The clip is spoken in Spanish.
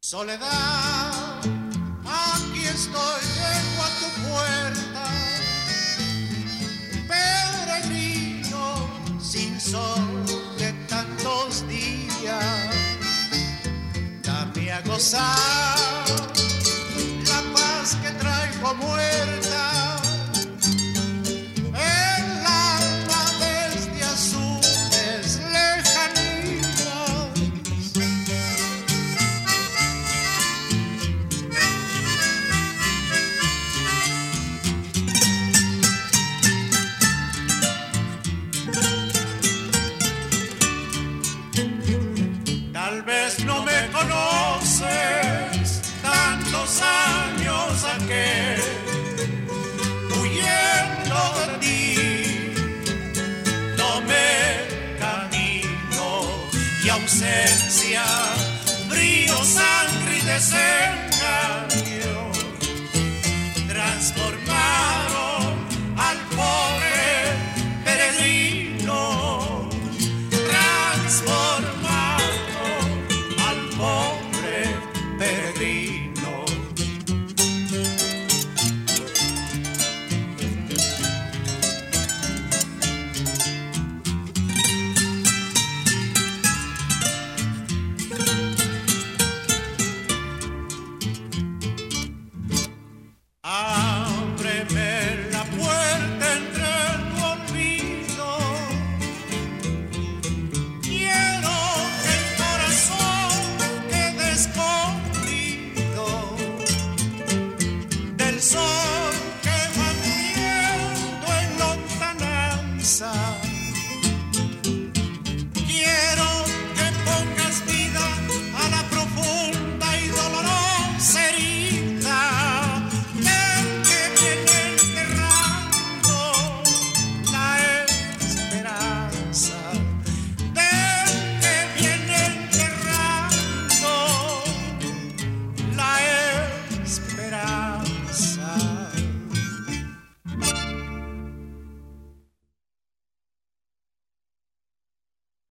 Soledad, aquí estoy, llego a tu puerta, peregrino sin sol de tantos días, dame a gozar la paz que traigo muerta, el alma desde azules lejanías. Tal vez no me conoces, tantos años aquel, huyendo de ti, tomé camino y ausencia, brío, sangre y deseo.